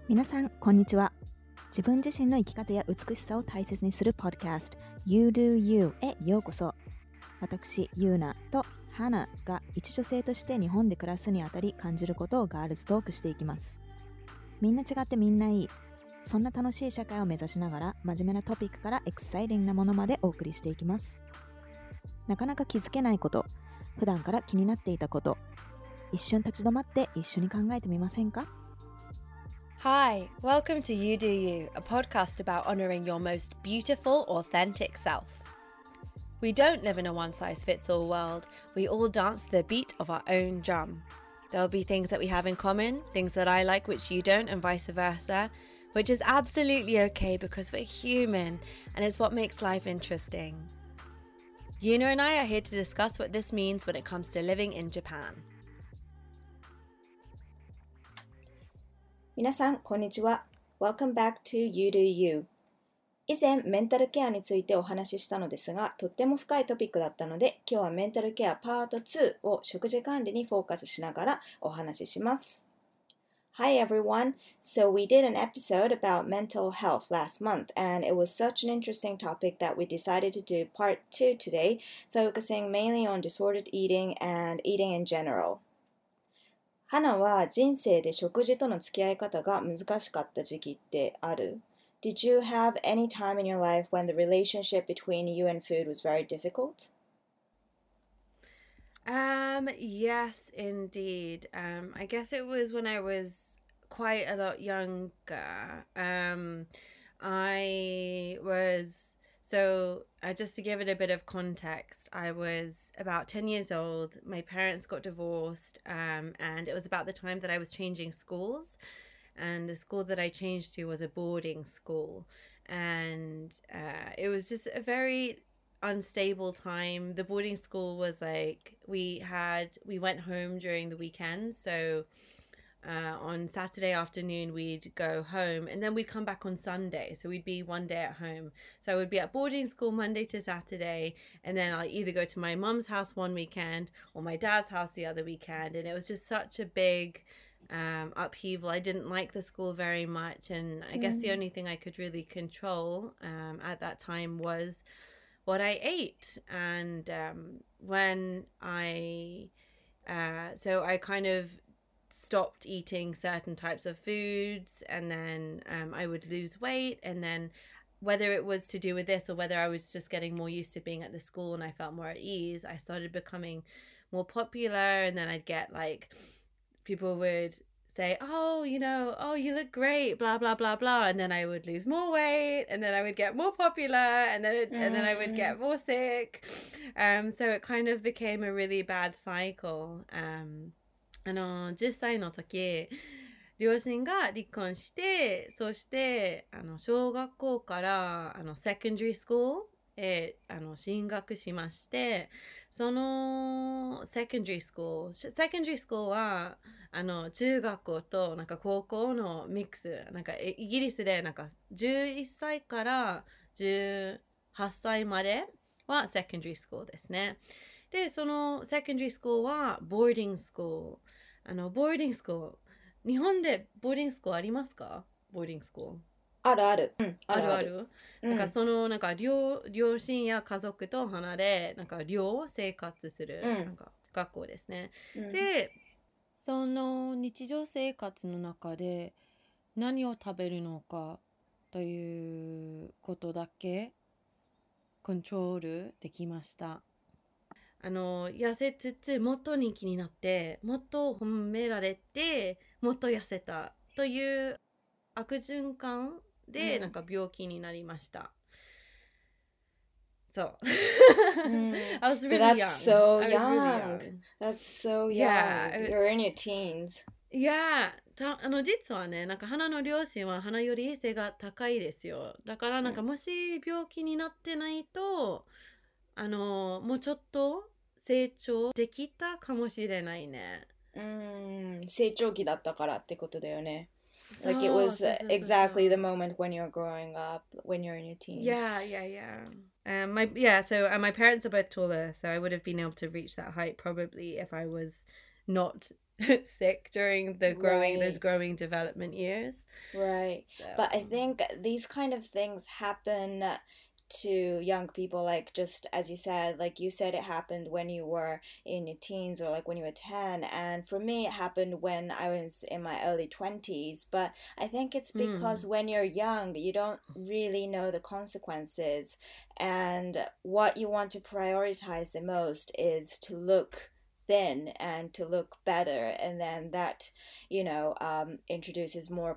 皆さんこんにちは。自分自身の生き方や美しさを大切にするポッドキャスト You Do You へようこそ。私ユーナとハナが一女性として日本で暮らすにあたり感じることをガールズトークしていきます。みんな違ってみんないい、そんな楽しい社会を目指しながら真面目なトピックからエクサイティングなものまでお送りしていきます。なかなか気づけないこと、普段から気になっていたこと、一瞬立ち止まって一緒に考えてみませんか？ Hi, welcome to You Do You, a podcast about honouring your most beautiful, authentic self. We don't live in a one-size-fits-all world. We all dance to the beat of our own drum. There'll be things that we have in common, things that I like which you don't, and vice versa, which is absolutely okay because we're human, and it's what makes life interesting. Yuna and I are here to discuss what this means when it comes to living in Japan. 皆さん、こんにちは。Welcome back to You Do You。以前、メンタルケアについてお話ししたのですが、とっても深いトピックだったので、今日はメンタルケアパート2を食事管理にフォーカスしながらお話しします。Hi everyone. So we did an episode about mental health last month, and it was such an interesting topic that we decided to do part 2 today, focusing mainly on disordered eating and eating in general.花は人生で食事との付き合い方が難しかった時期ってある？ Did you have any time in your life when the relationship between you and food was very difficult? Yes, indeed. I guess it was when I was quite a lot younger. I was just to give it a bit of context, I was about 10 years old. My parents got divorced, and it was about the time that I was changing schools. And the school that I changed to was a boarding school. And it was just a very unstable time. The boarding school was like, we went home during the weekend. So on Saturday afternoon we'd go home and then we'd come back on Sunday, so we'd be one day at home. So I would be at boarding school Monday to Saturday, and then I'll either go to my mum's house one weekend or my dad's house the other weekend, and it was just such a big upheaval. I didn't like the school very much, and I guess the only thing I could really control at that time was what I ate. And when I kind of stopped eating certain types of foods, and then I would lose weight, and then whether it was to do with this or whether I was just getting more used to being at the school and I felt more at ease, I started becoming more popular, and then I'd get like people would say, oh, you look great, blah blah blah blah, and then I would lose more weight, and then I would get more popular, and then I would get more sick. So it kind of became a really bad cycle. 10歳の時、両親が離婚して、そして小学校からsecondary school へ進学しまして、そのsecondary school は中学校となんか高校のミックス、なんかイギリスでなんか11歳から18歳まではsecondary schoolですね。で、そのsecondary schoolはボーディングスクール。ボーディングスクール。日本でボーディングスクールありますか？ボーディングスクール。 あるある。 ある。なんかなんか両親や家族と離れ、なんか寮生活する、なんか学校ですね。で、その日常生活の中で何を食べるのかということだけコントロールできました。痩せつつもっと人気になって、もっと褒められて、もっと痩せたという悪循環でなんか病気になりました。そう。I was really That's young. so I was young. really young. That's so young. Yeah. You're in your teens. Yeah. 実はね、なんか花の両親は花より背が高いですよ。だからなんかもし病気になってないと、もうちょっと成長できたかもしれないね。 成長期だったからってことだよね。Like it was exactly the moment when you're growing up, when you're in your teens. Yeah. My parents are both taller, so I would have been able to reach that height probably if I was not sick during the those growing development years. Right. So, But I think these kind of things happen to young people, like just as you said, like you said, it happened when you were in your teens or like when you were 10. And for me, it happened when I was in my early 20s. But I think it's because when you're young, you don't really know the consequences. And what you want to prioritize the most is to look thin and to look better, and then that introduces more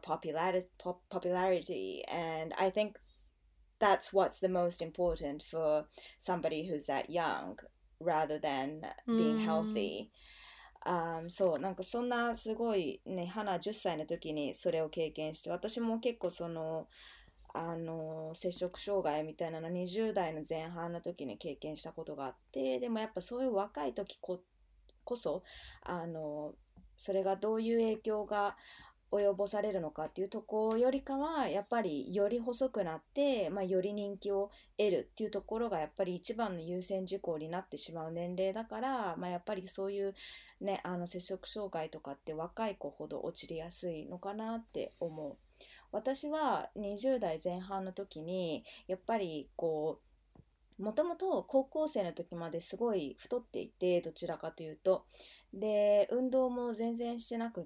popularity, and I think that's what's the most important for somebody who's that young rather than being healthy. そうなんかそんなすごいね、花10歳の時にそれを経験して、私も結構その摂食障害みたいなの20代の前半の時に経験したことがあって、でもやっぱそういう若い時こそそれがどういう影響が及ぼされるのかっていうところよりかはやっぱりより細くなって、より人気を得るっていうところがやっぱり一番の優先事項になってしまう年齢だから、やっぱりそういうね摂食障害とかって若い子ほど陥りやすいのかなって思う。私は20代前半の時にやっぱりこうもともと高校生の時まですごい太っていて、どちらかというとで運動も全然してなくって、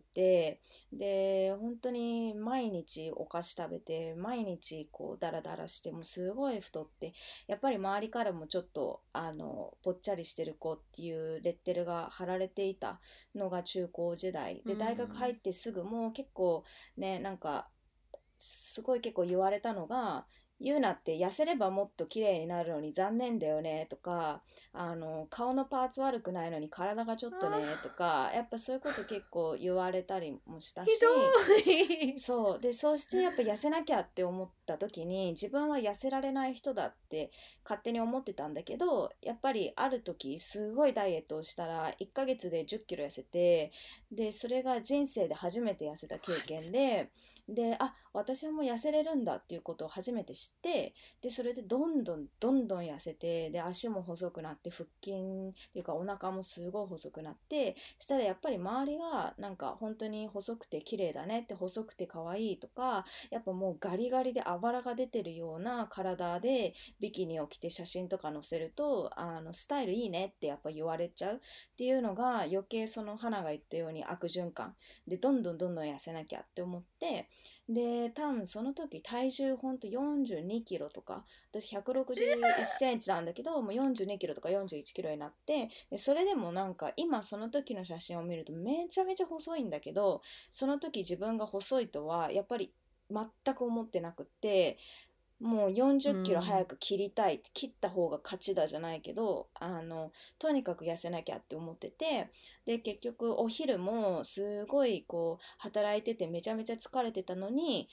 で本当に毎日お菓子食べて毎日こうダラダラしてもすごい太って、やっぱり周りからもちょっとぽっちゃりしてる子っていうレッテルが貼られていたのが中高時代で、大学入ってすぐも結構ね、なんかすごい結構言われたのが、ユーナって痩せればもっと綺麗になるのに残念だよねとか、顔のパーツ悪くないのに体がちょっとねとか、やっぱそういうこと結構言われたりもしたし、そうで、そうしてやっぱ痩せなきゃって思った時に自分は痩せられない人だって勝手に思ってたんだけど、やっぱりある時すごいダイエットをしたら1ヶ月で10キロ痩せて、でそれが人生で初めて痩せた経験で、私はもう痩せれるんだっていうことを初めて知って、でそれでどんどん痩せて、で足も細くなって、腹筋っていうかお腹もすごい細くなって、したらやっぱり周りがなんか本当に細くて綺麗だねって、細くて可愛いとか、やっぱもうガリガリであばらが出てるような体でビキニを着て写真とか載せるとスタイルいいねってやっぱ言われちゃうっていうのが、余計その花が言ったように悪循環でどんどん痩せなきゃって思って、で多分その時体重ほんと42キロとか、私161センチなんだけどもう42キロとか41キロになって、でそれでもなんか今その時の写真を見るとめちゃめちゃ細いんだけど、その時自分が細いとはやっぱり全く思ってなくって、もう40キロ早く切りたい、切った方が勝ちだじゃないけど、とにかく痩せなきゃって思ってて、で結局お昼もすごいこう働いててめちゃめちゃ疲れてたのに、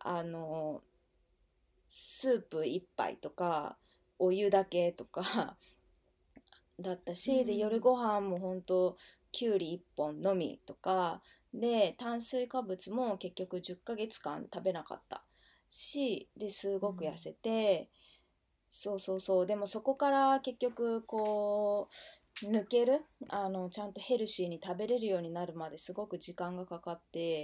スープ1杯とかお湯だけとかだったし、で夜ご飯もほんときゅうり1本のみとかで、炭水化物も結局10ヶ月間食べなかったし、ですごく痩せて、そうでもそこから結局こう抜けるちゃんとヘルシーに食べれるようになるまですごく時間がかかって、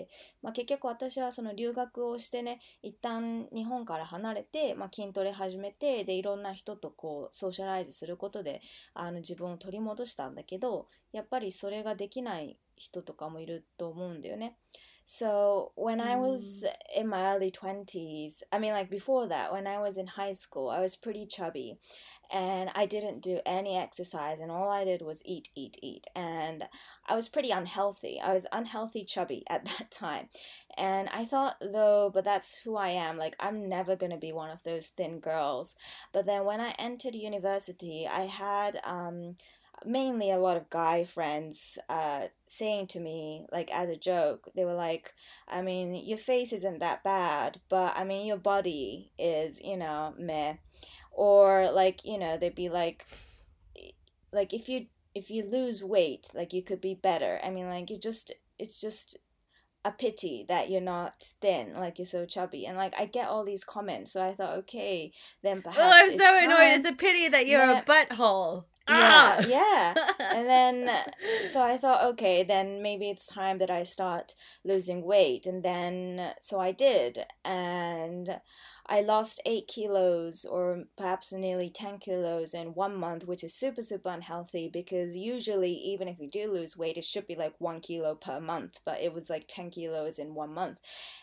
結局私はその留学をしてね、一旦日本から離れて、筋トレ始めて、でいろんな人とこうソーシャライズすることで自分を取り戻したんだけど、やっぱりそれができない人とかもいると思うんだよね。So when I was in my early 20s, I mean like before that, when I was in high school, I was pretty chubby and I didn't do any exercise and all I did was eat. And I was pretty unhealthy. I was unhealthy chubby at that time. And I thought though, but that's who I am. Like I'm never going to be one of those thin girls. But then when I entered university, I had mainly a lot of guy friends saying to me, like as a joke, they were like, I mean, your face isn't that bad, but I mean, your body is, meh. Or like, they'd be like if you lose weight, like you could be better. I mean, like it's just a pity that you're not thin, like you're so chubby. And like I get all these comments, so I thought, okay, then perhaps I'm it's so time. annoyed. It's a pity that you're a butthole. Yeah, Ah! yeah. And then, so I thought, okay, then maybe it's time that I start losing weight. And then, so I did. And I lost 8 kilos or perhaps nearly 10 kilos in 1 month, which is super, super unhealthy because usually, even if you do lose weight, it should be like 1 kilo per month, but it was like 10 kilos in 1 month.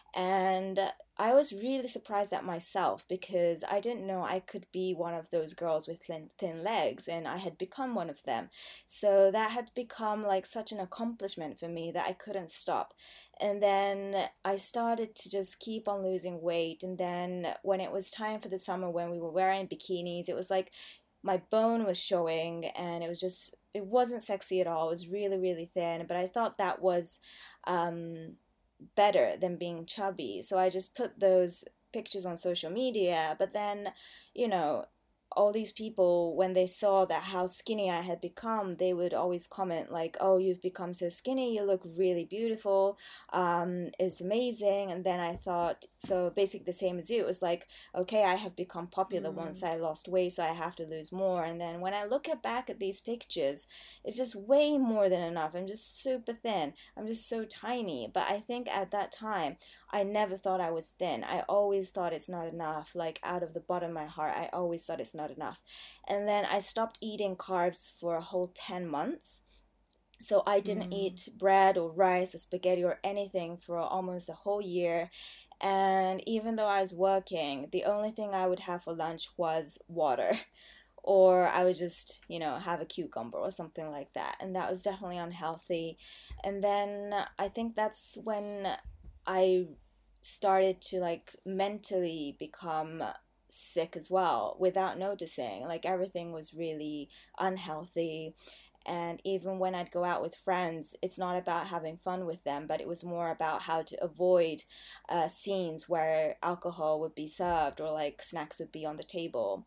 And I was really surprised at myself because I didn't know I could be one of those girls with thin legs, and I had become one of them. So that had become like such an accomplishment for me that I couldn't stop. And then I started to just keep on losing weight. And then when it was time for the summer, when we were wearing bikinis, it was like my bone was showing, and it wasn't sexy at all. It was really, really thin, but I thought that was um better than being chubby. So I just put those pictures on social media. But then, you know, all these people, when they saw that how skinny I had become, they would always comment like, "Oh, you've become so skinny. You look really beautiful. It's amazing." And then I thought, so basically the same as you. It was like, okay, I have become popular once Mm. I lost weight, so I have to lose more. And then when I look back at these pictures, it's just way more than enough. I'm just super thin. I'm just so tiny. But I think at that time, I never thought I was thin. I always thought it's not enough. Like out of the bottom of my heart, I always thought it's not enough. And then I stopped eating carbs for a whole 10 months. So I didn't Mm. eat bread or rice or spaghetti or anything for almost a whole year. And even though I was working, the only thing I would have for lunch was water. Or I would just, have a cucumber or something like that. And that was definitely unhealthy. And then I think that's when I started to like mentally become sick as well without noticing. Like everything was really unhealthy. And even when I'd go out with friends, it's not about having fun with them, but it was more about how to avoid scenes where alcohol would be served or like snacks would be on the table.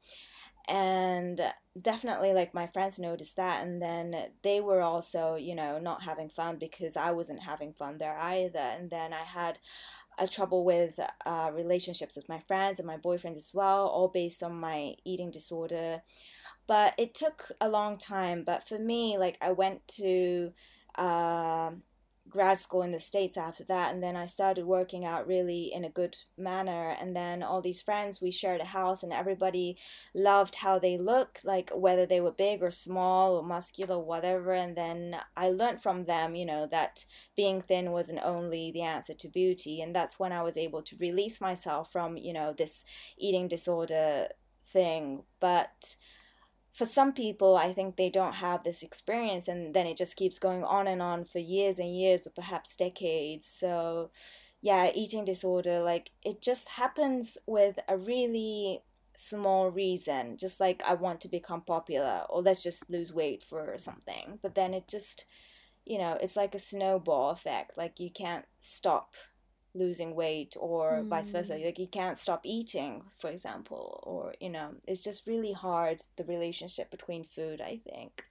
And definitely like my friends noticed that, and then they were also not having fun because I wasn't having fun there either. And then I had a trouble with relationships with my friends and my boyfriend as well, all based on my eating disorder. But it took a long time. But for me, like I went to uh, grad school in the States after that, and then I started working out really in a good manner. And then all these friends, we shared a house, and everybody loved how they look, like whether they were big or small or muscular, whatever. And then I learned from them, that being thin wasn't only the answer to beauty. And that's when I was able to release myself from, this eating disorder thing. But for some people, I think they don't have this experience, and then it just keeps going on and on for years and years, or perhaps decades. So, yeah, eating disorder, like, it just happens with a really small reason, just like I want to become popular, or let's just lose weight for something. But then it just, it's like a snowball effect. Like, you can't stop losing weight or vice versa. Mm. Like you can't stop eating, for example, or it's just really hard, the relationship between food, I think.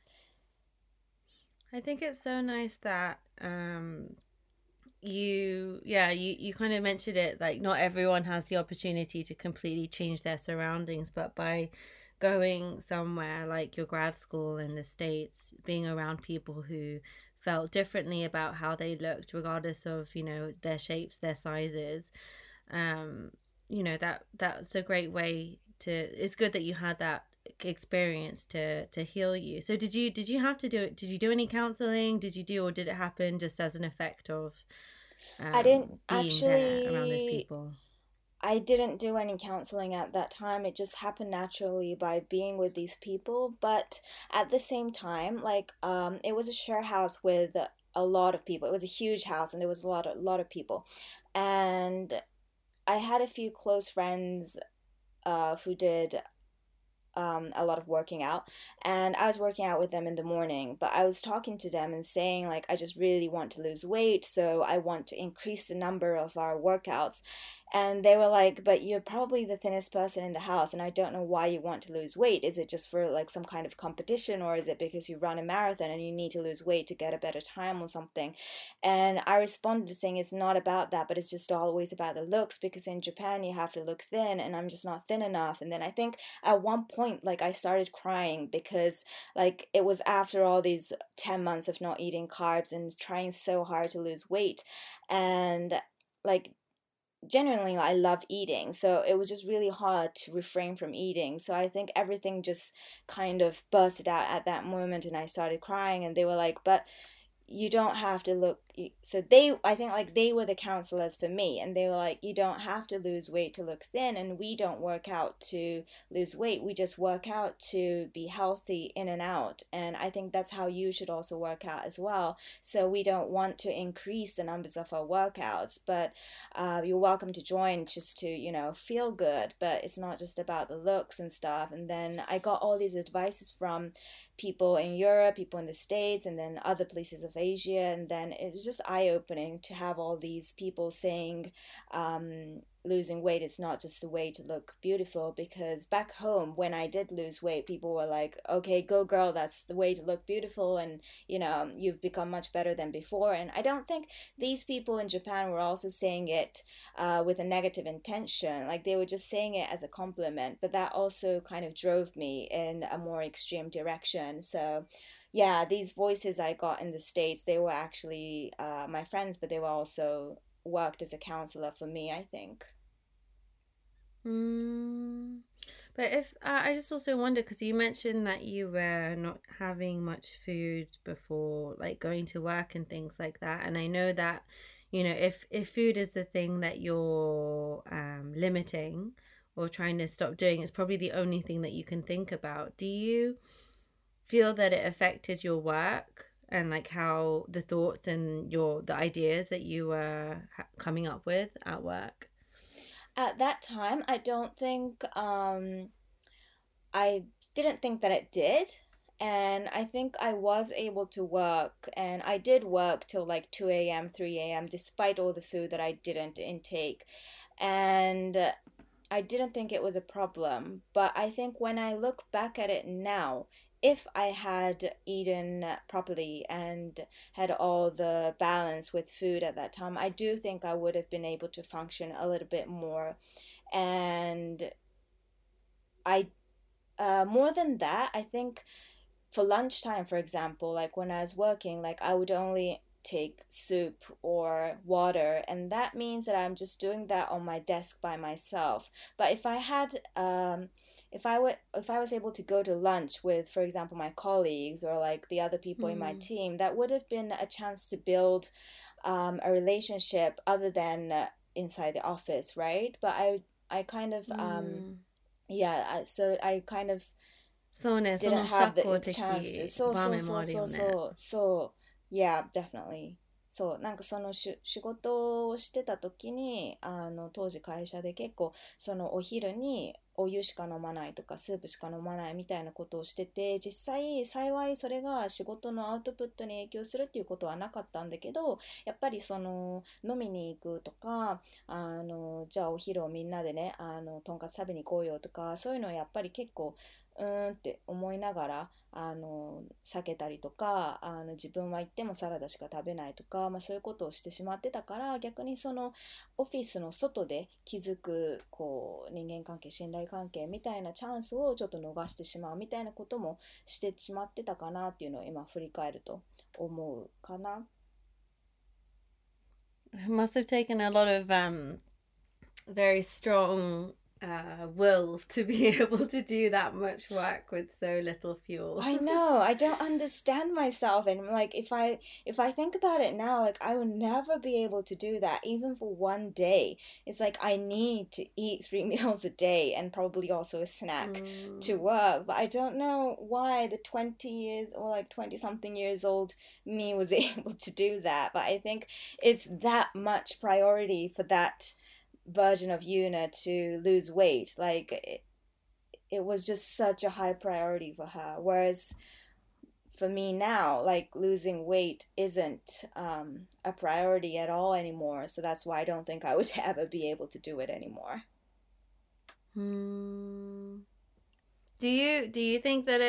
I think it's so nice that you kind of mentioned it, like not everyone has the opportunity to completely change their surroundings, but by going somewhere like your grad school in the States, being around people who felt differently about how they looked regardless of their shapes, their sizes, um that's a great way to, it's good that you had that experience to heal you. So did you have to do it, did you do any counseling, did you do, or did it happen just as an effect of I didn't being there around those actually people? I didn't do any counseling at that time. It just happened naturally by being with these people. But at the same time, like it was a share house with a lot of people. It was a huge house, and there was a lot of people. And I had a few close friends who did a lot of working out, and I was working out with them in the morning. But I was talking to them and saying like, I just really want to lose weight, so I want to increase the number of our workouts. And they were like, but you're probably the thinnest person in the house, and I don't know why you want to lose weight. Is it just for like some kind of competition, or is it because you run a marathon and you need to lose weight to get a better time or something? And I responded saying it's not about that, but it's just always about the looks, because in Japan you have to look thin, and I'm just not thin enough. And then I think at one point, like, I started crying because like it was after all these 10 months of not eating carbs and trying so hard to lose weight. And like genuinely I love eating, so it was just really hard to refrain from eating. So I think everything just kind of bursted out at that moment, and I started crying, and they were like, but you don't have to look. So they, I think like they were the counselors for me, and they were like, you don't have to lose weight to look thin, and we don't work out to lose weight, we just work out to be healthy in and out. And I think that's how you should also work out as well. So we don't want to increase the numbers of our workouts, but you're welcome to join just to, you know, feel good, but it's not just about the looks and stuff. And then I got all these advices from people in Europe, people in the States, and then other places of Asia. And then it was just eye-opening to have all these people saying losing weight is not just the way to look beautiful. Because back home, when I did lose weight, people were like, okay, go girl, that's the way to look beautiful, and you know, you've become much better than before. And I don't think these people in Japan were also saying it with a negative intention. Like, they were just saying it as a compliment, but that also kind of drove me in a more extreme direction. So yeah, these voices I got in the States, they were actually my friends, but they were also worked as a counselor for me, I think. But if I just also wonder, because you mentioned that you were not having much food before, like going to work and things like that, and I know that, you know, if food is the thing that you're limiting or trying to stop doing, it's probably the only thing that you can think about. Do you feel that it affected your work and like how the thoughts and the ideas that you were coming up with at work? At that time, I don't think I didn't think that it did. And I think I was able to work, and I did work till like 2 a.m., 3 a.m., despite all the food that I didn't intake. And I didn't think it was a problem. But I think when I look back at it now, if I had eaten properly and had all the balance with food at that time, I do think I would have been able to function a little bit more. And I, more than that, I think for lunchtime, for example, like when I was working, like I would only take soup or water, and that means that I'm just doing that on my desk by myself. But if I had if I was able to go to lunch with, for example, my colleagues or like the other people in my Mm. team, that would have been a chance to build a relationship other than inside the office, right? But I kind of Mm. yeah, so I kind of そうね、そ didn't の have 社 the 交 chance to. 的そうそう場面もそうそうあるよね。 そう。Yeah, definitely. そう、なんかその仕事をしてた時に、当時会社で結構、そのお昼にお湯しか飲まないとか、スープしか飲まないみたいなことをしてて、実際、幸いそれが仕事のアウトプットに影響するっていうことはなかったんだけど、やっぱりその、飲みに行くとか、じゃあお昼をみんなでね、とんかつ食べに行こうよとか、そういうのはやっぱり結構、って思いながら避けたりとか自分は行ってもサラダしか食べないとか、まあ、そういうことをしてしまってたから、逆にそのオフィスの外で気づくこう人間関係、信頼関係みたいなチャンスをちょっと逃してしまうみたいなこともしてしまってたかなっていうのを今振り返ると思うかな。 It must have taken a lot of very strong wills to be able to do that much work with so little fuel. I know. I don't understand myself, and like if I think about it now, like I would never be able to do that even for one day. It's like I need to eat 3 meals a day and probably also a snack to work, but I don't know why the 20 years or like 20 something years old me was able to do that. But I think it's that much priority for that version of Yuna to lose weight. Like it was just such a high priority for her. Whereas for me now, like losing weight isn't a priority at all anymore. So that's why I don't think I would ever be able to do it anymore. Do you think that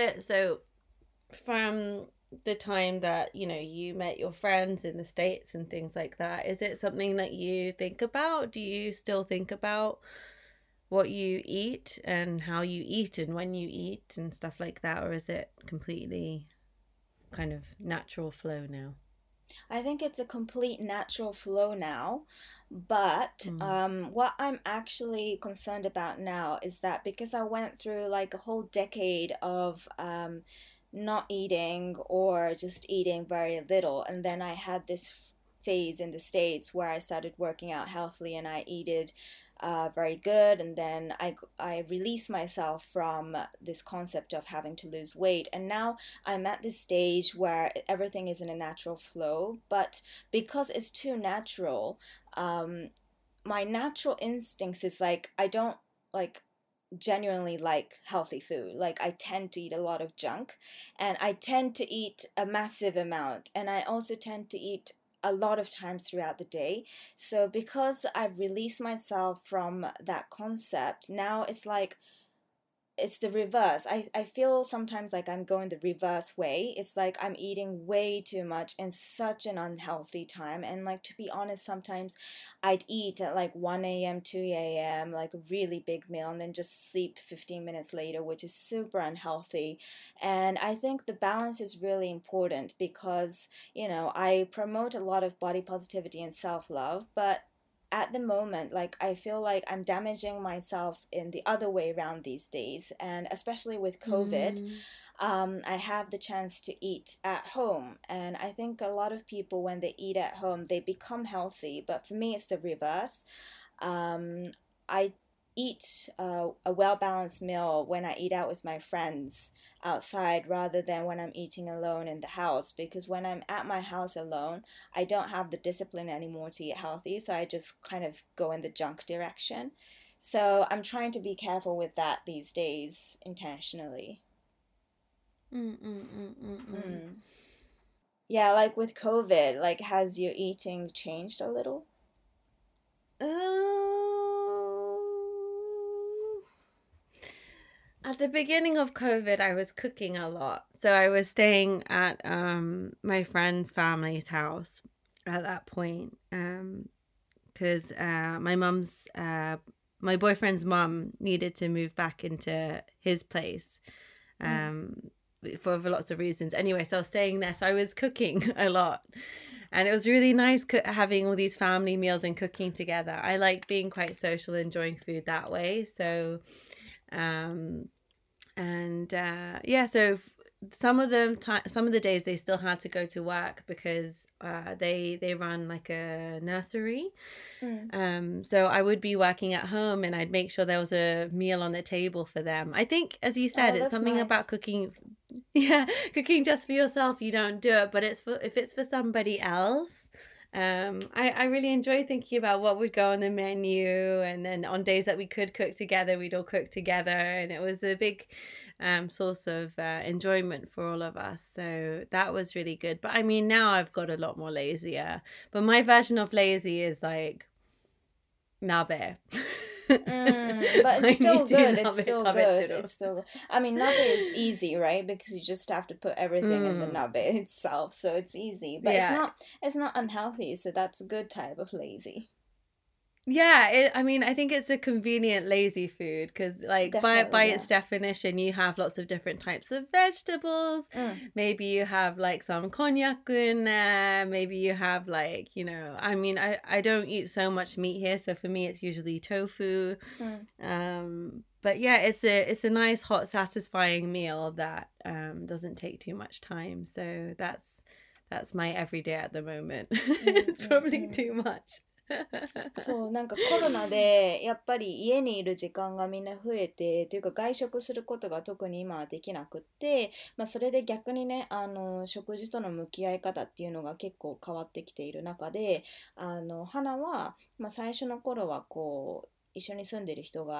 from the time that you met your friends in the States and things like that, is it something that you think about? Do you still think about what you eat and how you eat and when you eat and stuff like that, or is it completely kind of natural flow now? I think it's a complete natural flow now. But what I'm actually concerned about now is that because I went through like a whole decade of not eating or just eating very little, and then I had this phase in the States where I started working out healthily and I eated very good, and then I released myself from this concept of having to lose weight, and now I'm at this stage where everything is in a natural flow, but because it's too natural, my natural instincts is like I don't like genuinely like healthy food. Like I tend to eat a lot of junk, and I tend to eat a massive amount, and I also tend to eat a lot of times throughout the day. So because I've released myself from that concept, now it's like it's the reverse. I feel sometimes like I'm going the reverse way. It's like I'm eating way too much in such an unhealthy time. And like to be honest, sometimes I'd eat at like 1 a.m., 2 a.m., like a really big meal, and then just sleep 15 minutes later, which is super unhealthy. And I think the balance is really important because, I promote a lot of body positivity and self-love, but at the moment, like I feel like I'm damaging myself in the other way around these days, and especially with COVID, I have the chance to eat at home, and I think a lot of people when they eat at home they become healthy, but for me it's the reverse. I eat a well-balanced meal when I eat out with my friends outside rather than when I'm eating alone in the house, because when I'm at my house alone I don't have the discipline anymore to eat healthy, so I just kind of go in the junk direction. So I'm trying to be careful with that these days intentionally. Yeah, like with COVID, like has your eating changed a little? At the beginning of COVID, I was cooking a lot. So I was staying at my friend's family's house at that point because my boyfriend's mum needed to move back into his place for lots of reasons. Anyway, so I was staying there. So I was cooking a lot. And it was really nice having all these family meals and cooking together. I like being quite social, enjoying food that way. So, so some of the days they still had to go to work because they run like a nursery. So I would be working at home and I'd make sure there was a meal on the table for them. I think, as you said, it's something nice about cooking. Yeah, cooking just for yourself, you don't do it, but if it's for somebody else. I really enjoy thinking about what would go on the menu, and then on days that we could cook together, we'd all cook together, and it was a big source of enjoyment for all of us. So that was really good. But I mean, now I've got a lot more lazier. But my version of lazy is like nabe. But it's still good. It's still good. It's still. I mean, nabe is easy, right? Because you just have to put everything in the nabe itself, so it's easy. But it's not unhealthy. So that's a good type of lazy. Yeah, I think it's a convenient lazy food because, like, by its definition, you have lots of different types of vegetables. Maybe you have like some konjac in there. Maybe you have like, I don't eat so much meat here, so for me it's usually tofu. But yeah, it's a nice, hot, satisfying meal that doesn't take too much time. So that's my everyday at the moment. It's probably too much. そうなんかコロナでやっぱり家にいる時間がみんな増えてというか外食することが特に今はできなくって、それで逆にね食事との向き合い方っていうのが結構変わってきている中で花は、最初の頃はこう一緒に住んでる人が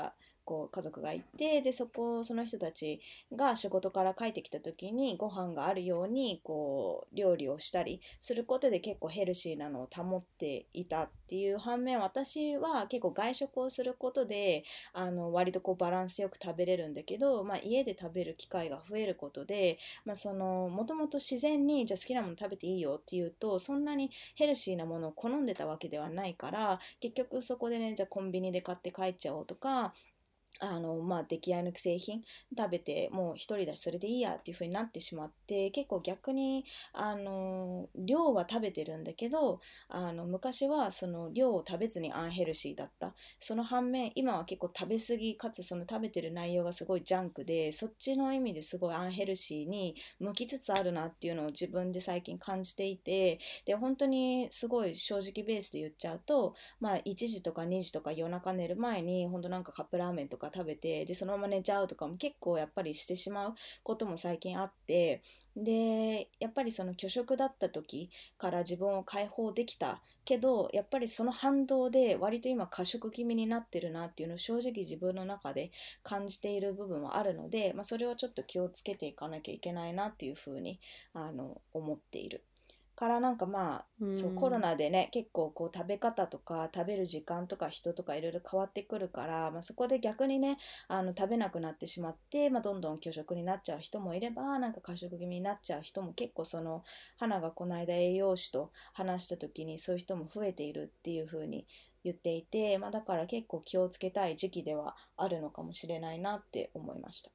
こう家族がいて、でその人たちが仕事から帰ってきた時にご飯があるようにこう料理をしたりすることで結構ヘルシーなのを保っていたっていう反面、私は結構外食をすることで割とこうバランスよく食べれるんだけど、家で食べる機会が増えることで、もともと自然にじゃあ好きなもの食べていいよっていうと、そんなにヘルシーなものを好んでたわけではないから、結局そこでね、じゃあコンビニで買って帰っちゃおうとか、出来合いの既製品食べてもう一人だしそれでいいやっていう風になってしまって、結構逆に量は食べてるんだけど、昔はその量を食べずにアンヘルシーだった。その反面今は結構食べ過ぎかつその食べてる内容がすごいジャンクで、そっちの意味ですごいアンヘルシーに向きつつあるなっていうのを自分で最近感じていて、で本当にすごい正直ベースで言っちゃうと、1時とか2時とか夜中寝る前に本当なんかカップラーメンとか食べて、でそのまま寝ちゃうとかも結構やっぱりしてしまうことも最近あって、でやっぱりその拒食だった時から自分を解放できたけど、やっぱりその反動で割と今過食気味になってるなっていうのを正直自分の中で感じている部分はあるので、それをちょっと気をつけていかなきゃいけないなっていうふうに思っている。からなんかそうコロナでね、結構こう食べ方とか食べる時間とか人とかいろいろ変わってくるから、そこで逆にね食べなくなってしまって、どんどん拒食になっちゃう人もいれば、なんか過食気味になっちゃう人も結構、花がこの間栄養士と話した時にそういう人も増えているっていう風に言っていて、だから結構気をつけたい時期ではあるのかもしれないなって思いました。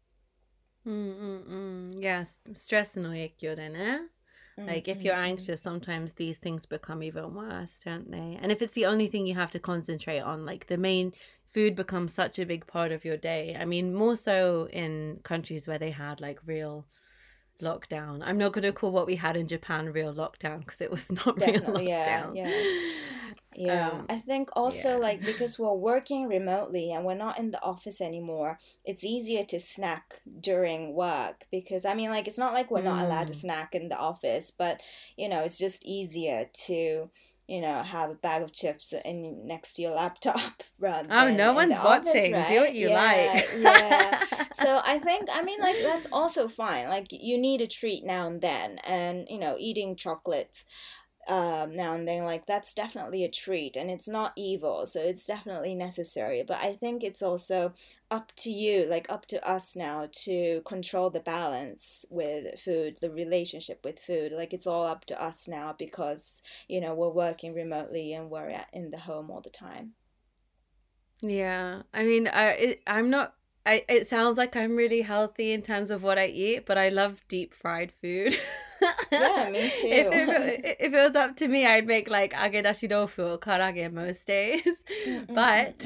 Yeah, ストレスの影響でね。Like if you're anxious, sometimes these things become even worse, don't they? And if it's the only thing you have to concentrate on, like the main food becomes such a big part of your day. I mean, more so in countries where they had like real lockdown. I'm not going to call what we had in Japan real lockdown because it was not real lockdown. I think also like because we're working remotely and we're not in the office anymore, it's easier to snack during work, because I mean, like, it's not like we're not allowed to snack in the office, but it's just easier to have a bag of chips next to your laptop rather than no one's watching, right? Do what you like. So I think, I mean, like, that's also fine. Like, you need a treat now and then, and eating chocolates now and then, like, that's definitely a treat, and it's not evil, so it's definitely necessary. But I think it's also up to you, like up to us now, to control the balance with food, the relationship with food. Like, it's all up to us now because we're working remotely and we're in the home all the time. Yeah, I mean, I'm not. It sounds like I'm really healthy in terms of what I eat, but I love deep fried food. Yeah, me too. If it was up to me, I'd make like agedashi tofu or karage most days. But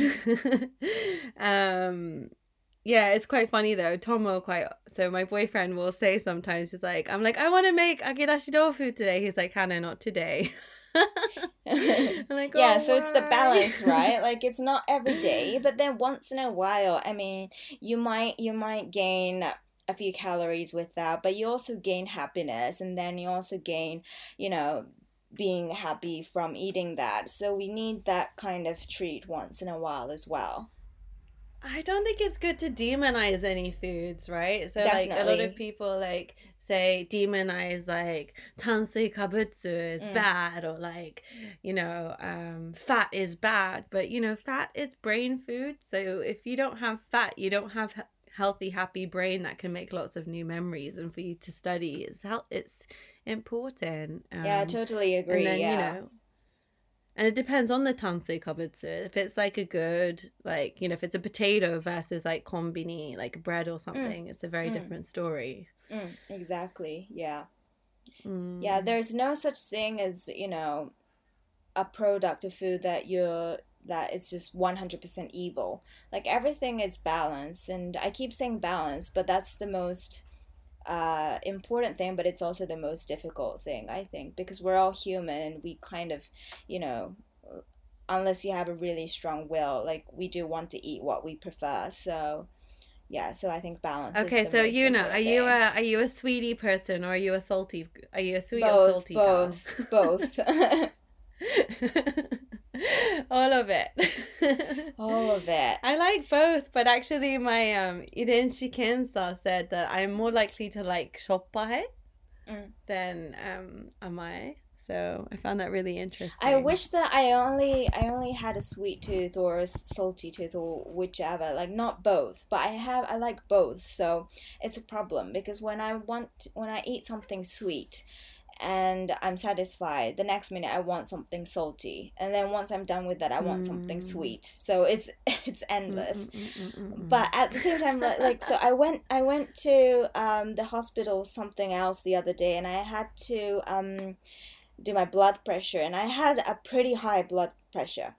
yeah, it's quite funny though. So my boyfriend will say sometimes, he's like, I'm like, I want to make agedashi tofu today. He's like, Hannah, not today. Like, yeah, so it's the balance, right? Like, it's not every day, but then once in a while, I mean, you might gain a few calories with that, but you also gain happiness, and then you also gain being happy from eating that. So we need that kind of treat once in a while as well. I don't think it's good to demonize any foods, right? So Definitely. Like a lot of people like say demonize like tansui kabutsu is bad, or like fat is bad, but fat is brain food. So if you don't have fat, you don't have healthy, happy brain that can make lots of new memories, and for you to study it's important. Yeah, I totally agree. And then, and it depends on the tansui kabutsu. If it's like a good, like, if it's a potato versus like konbini, like bread or something, it's a very different story. Exactly. Yeah. Yeah, there's no such thing as, a product of food that it's just 100% evil. Like, everything is balance, and I keep saying balance, but that's the most important thing, but it's also the most difficult thing, I think, because we're all human, and we kind of, unless you have a really strong will, like, we do want to eat what we prefer. So yeah, so I think balance is the most important thing. Are you a sweetie person, or are you a salty? Are you a sweet or salty? Both. All of it. All of it. I like both, but actually my 遺伝子検査 said that I'm more likely to like しょっぱい than甘い. So I found that really interesting. I wish that I only had a sweet tooth or a salty tooth or whichever, like not both, but I like both. So it's a problem because when I eat something sweet and I'm satisfied, the next minute I want something salty, and then once I'm done with that I want something sweet. So it's endless. But at the same time, like so I went to the hospital something else the other day, and I had to do my blood pressure, and I had a pretty high blood pressure,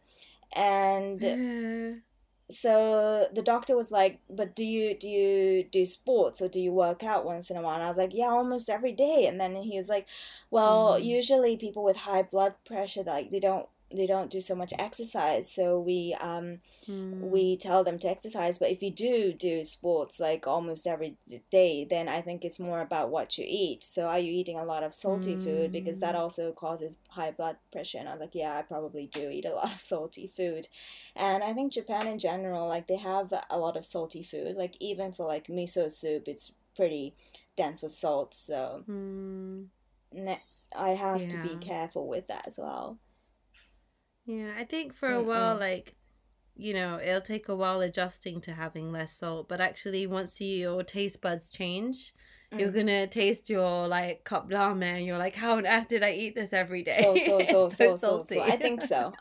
and so the doctor was like, but do you do sports or do you work out once in a while? And I was like, yeah, almost every day. And then he was like, well, usually people with high blood pressure, like they don't do so much exercise, so we tell them to exercise. But if you do sports like almost every day, then I think it's more about what you eat. So are you eating a lot of salty food, because that also causes high blood pressure? And I was like, yeah, I probably do eat a lot of salty food. And I think Japan in general, like they have a lot of salty food, like even for like miso soup, it's pretty dense with salt. So I have to be careful with that as well. Yeah, I think for a while, like, you know, it'll take a while adjusting to having less salt, but actually once your taste buds change, you're gonna taste your like cup ramen and you're like, how on earth did I eat this every day? So salty. I think so.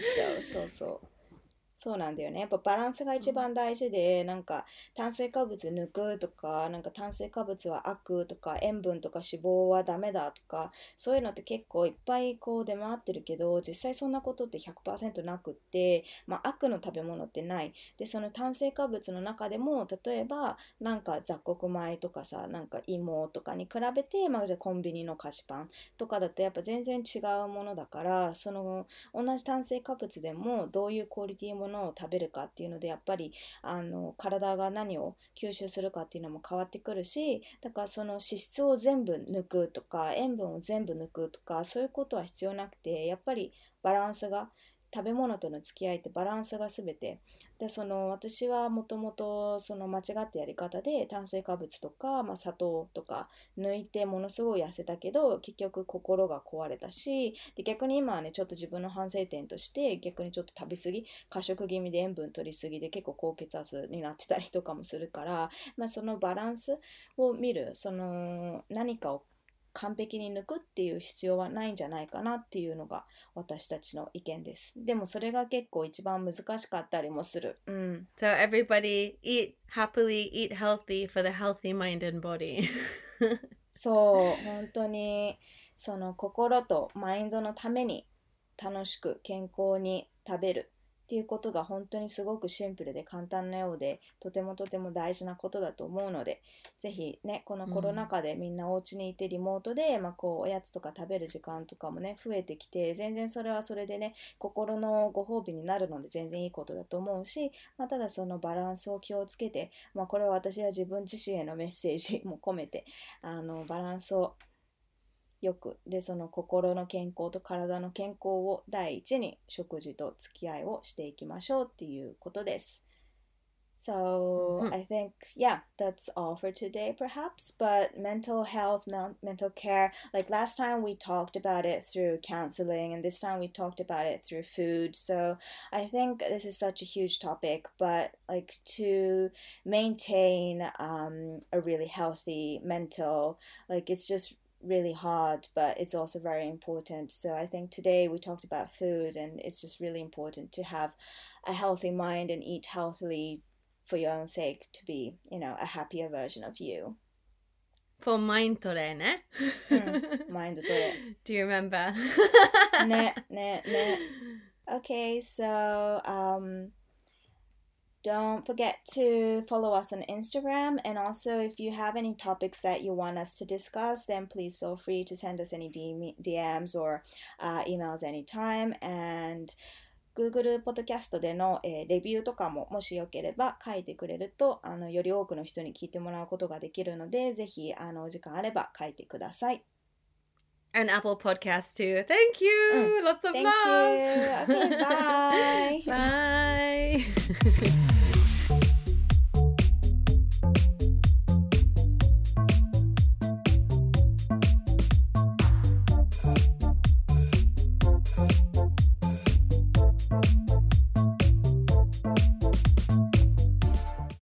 そうなんだよね。やっぱバランスが一番大事で、なんか炭水化物抜くとか、なんか炭水化物は悪とか、塩分とか脂肪はダメだとか、そういうのって結構いっぱいこう出回ってるけど、実際そんなことって 100% なくって、まあ悪の食べ物ってない。で、その炭水化物の中でも、例えばなんか雑穀米とかさ、なんか芋とかに比べて、まあじゃあコンビニの菓子パンとかだとやっぱ全然違うものだから、その同じ炭水化物でもどういうクオリティものを食べるかっていうのでやっぱり体が何を吸収するかっていうのも変わってくるし、だからその脂質を全部抜くとか塩分を全部抜くとかそういうことは必要なくて、やっぱりバランスが、食べ物との付き合いってバランスが全てで、私はもともと間違ったやり方で炭水化物とか、まあ、砂糖とか抜いてものすごい痩せたけど結局心が壊れたし、で逆に今はねちょっと自分の反省点として逆にちょっと食べ過ぎ、過食気味で塩分取りすぎで結構高血圧になってたりとかもするから、まあ、そのバランスを見る、何かを完璧に抜くっていう必要はないんじゃないかなっていうのが私たちの意見です。でもそれが結構一番難しかったりもする。 So everybody eat happily, eat healthy for the healthy mind and body. そう、本当にその心とマインドのために楽しく健康に食べるっていうことが本当にすごくシンプルで簡単なようで、とても大事なことだと思うので、ぜひね、このコロナ禍でみんなお家にいてリモートで、まあこうおやつとか食べる時間とかもね増えてきて、全然それはそれでね心のご褒美になるので全然いいことだと思うし、まあ、ただそのバランスを気をつけて、まあこれは私は自分自身へのメッセージも込めてバランスをよくで、その心の健康と体の健康を第一に食事と付き合いをしていきましょうっていうことです。So I think, yeah, that's all for today perhaps, but mental health, mental care, like last time we talked about it through counseling and this time we talked about it through food. So I think this is such a huge topic, but like to maintain a really healthy mental, like it's just really hard, but it's also very important. So I think today we talked about food, and it's just really important to have a healthy mind and eat healthily for your own sake to be, you know, a happier version of you. For mind tore ne? Mind tore. Do you remember? Ne. Okay, so don't forget to follow us on Instagram, and also if you have any topics that you want us to discuss, then please feel free to send us any DMs or emails anytime. And Google ポッドキャストでの、レビューとかももしよければ書いてくれるとより多くの人に聞いてもらうことができるので、ぜひお時間あれば書いてください。 And Apple Podcasts too. Thank you. Lots of Thank love. you. Okay, bye. Bye.